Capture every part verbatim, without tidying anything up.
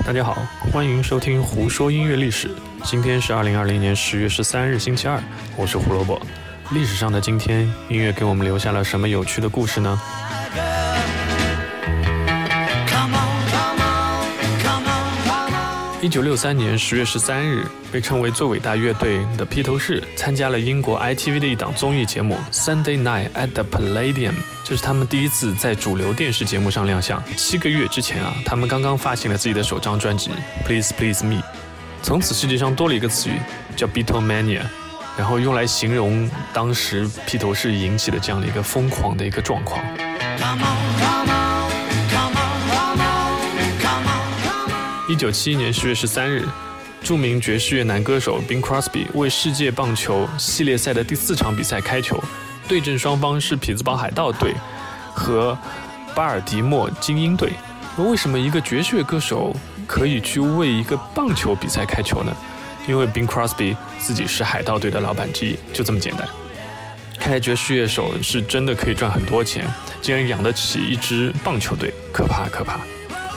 大家好，欢迎收听胡说音乐历史。今天是二零二零年十月十三日星期二，我是胡萝卜。历史上的今天，音乐给我们留下了什么有趣的故事呢？一九六三年十月十三日，被称为最伟大乐队的披头士参加了英国 I T V 的一档综艺节目 Sunday Night at the Palladium， 这是他们第一次在主流电视节目上亮相。七个月之前啊，他们刚刚发行了自己的首张专辑 Please Please Me， 从此世界上多了一个词语叫 Beatlemania， 然后用来形容当时披头士引起的这样的一个疯狂的一个状况。一九七一年十月十三日，著名爵士乐男歌手 Bing Crosby 为世界棒球系列赛的第四场比赛开球，对阵双方是匹兹堡海盗队和巴尔的摩精英队。为什么一个爵士乐歌手可以去为一个棒球比赛开球呢？因为 Bing Crosby 自己是海盗队的老板之一，就这么简单。看来爵士乐手是真的可以赚很多钱，竟然养得起一支棒球队，可怕可怕。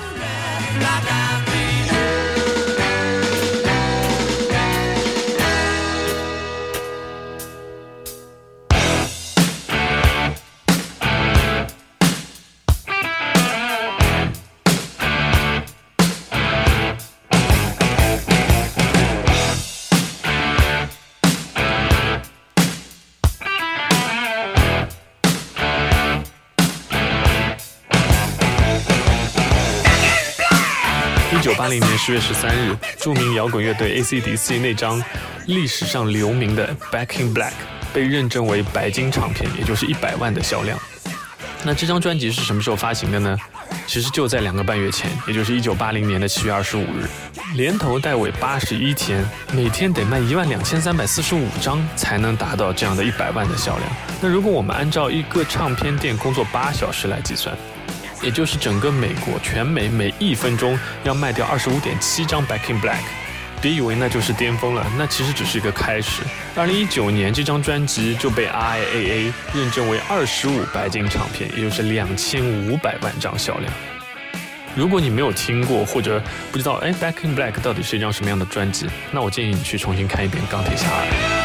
一九八零年十月十三日，著名摇滚乐队 A C D C 那张历史上留名的 Back in Black 被认证为白金唱片，也就是一百万的销量。那这张专辑是什么时候发行的呢？其实就在两个半月前，也就是一九八零年的七月二十五日，连头带尾八十一天，每天得卖一万两千三百四十五张才能达到这样的一百万的销量。那如果我们按照一个唱片店工作八小时来计算，也就是整个美国全美每一分钟要卖掉 二十五点七张 Back in Black， 别以为那就是巅峰了，那其实只是一个开始。二零一九年这张专辑就被 R I A A 认证为二十五白金唱片，也就是两千五百万张销量。如果你没有听过或者不知道哎 Back in Black 到底是一张什么样的专辑，那我建议你去重新看一遍钢铁侠二。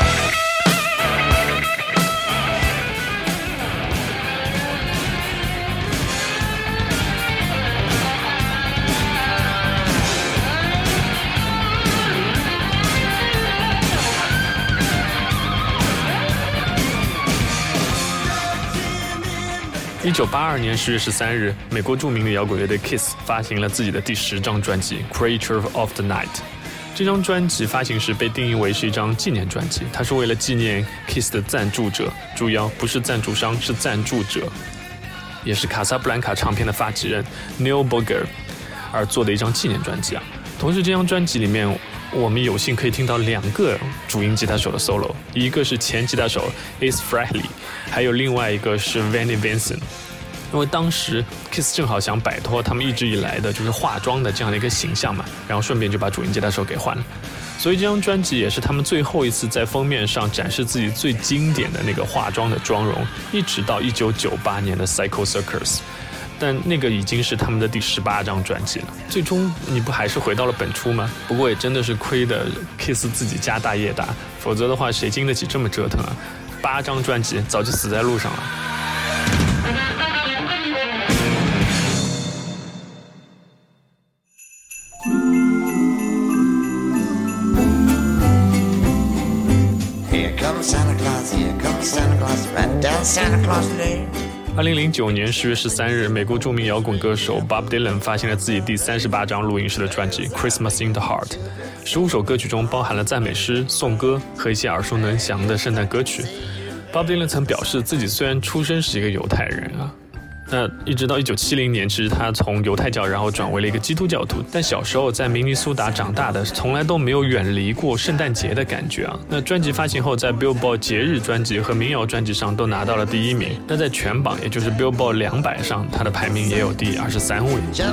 一九八二年十月十三日，美国著名的摇滚乐队 Kiss 发行了自己的第十张专辑 Creature of the Night。 这张专辑发行时被定义为是一张纪念专辑，它是为了纪念 Kiss 的赞助者，注意哦，不是赞助商，是赞助者，也是卡萨布兰卡唱片的发起人 Neil Booger 而做的一张纪念专辑啊。同时这张专辑里面我们有幸可以听到两个主音吉他手的 solo， 一个是前吉他手 Ace Frehley， 还有另外一个是 Vinnie Vincent。 因为当时 Kiss 正好想摆脱他们一直以来的就是化妆的这样的一个形象嘛，然后顺便就把主音吉他手给换了，所以这张专辑也是他们最后一次在封面上展示自己最经典的那个化妆的妆容，一直到一九九八年的 Psycho Circus，但那个已经是他们的第十八张专辑了。最终你不还是回到了本初吗？不过也真的是亏的 Kiss 自己家大业大，否则的话谁经得起这么折腾啊？八张专辑早就死在路上了。Here comes Santa Claus, here comes Santa Claus, right down Santa Claus Lane。二零零九年十月十三日，美国著名摇滚歌手 Bob Dylan 发行了自己第三十八张录音室的专辑 Christmas in the Heart， 十五首歌曲中包含了赞美诗、颂歌和一些耳熟能详的圣诞歌曲。Bob Dylan 曾表示自己虽然出生是一个犹太人啊，那一直到一九七零年，其实他从犹太教然后转为了一个基督教徒，但小时候在明尼苏达长大的，从来都没有远离过圣诞节的感觉啊。那专辑发行后，在 Billboard 节日专辑和民谣专辑上都拿到了第一名，那在全榜也就是 Billboard 两百上，他的排名也有第二十三位。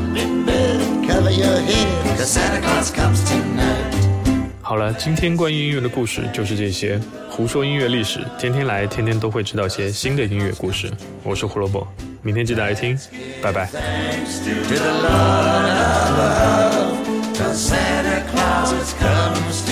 好了，今天关于音乐的故事就是这些，胡说音乐历史，天天来，天天都会知道些新的音乐故事。我是胡萝卜，明天记得来听，拜拜。 'cause Santa Claus comes to